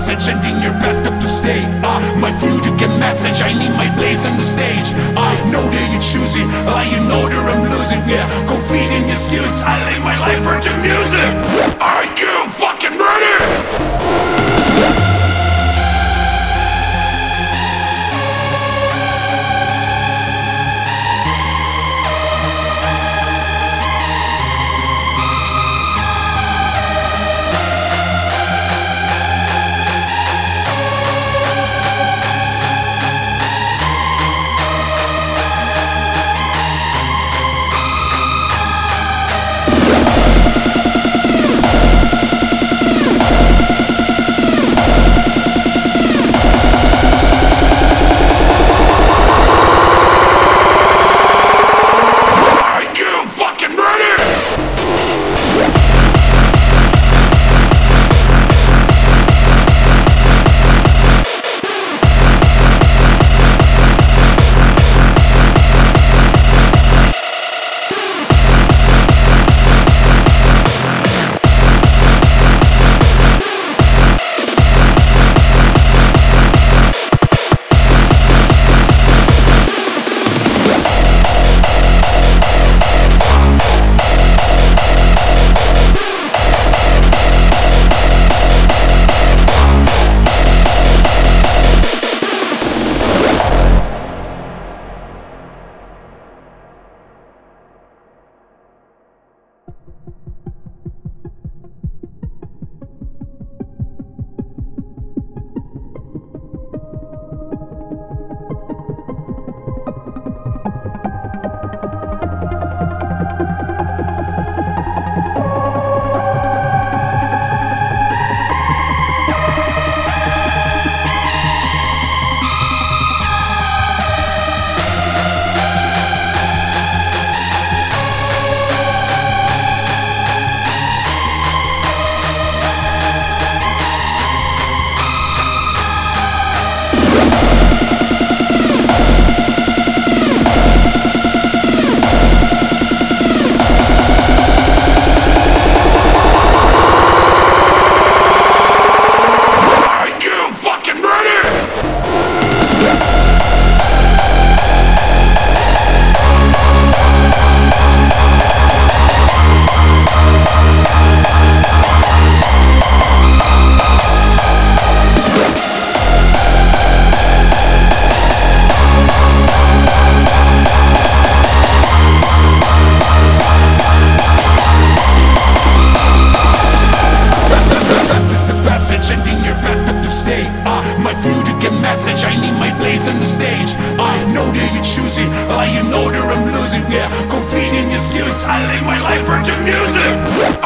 passage, ending your best up to stay. My fluid get message, I need my blaze on the stage. I know that you choose it, you know that I'm losing. Yeah, confide in your skills, I lay my life for the music. Are you fucking ready? My fluid get message, I need my blaze on the stage. I know that you choose it, you know that I'm losing. Yeah, confide in your skills, I lay my life for the music.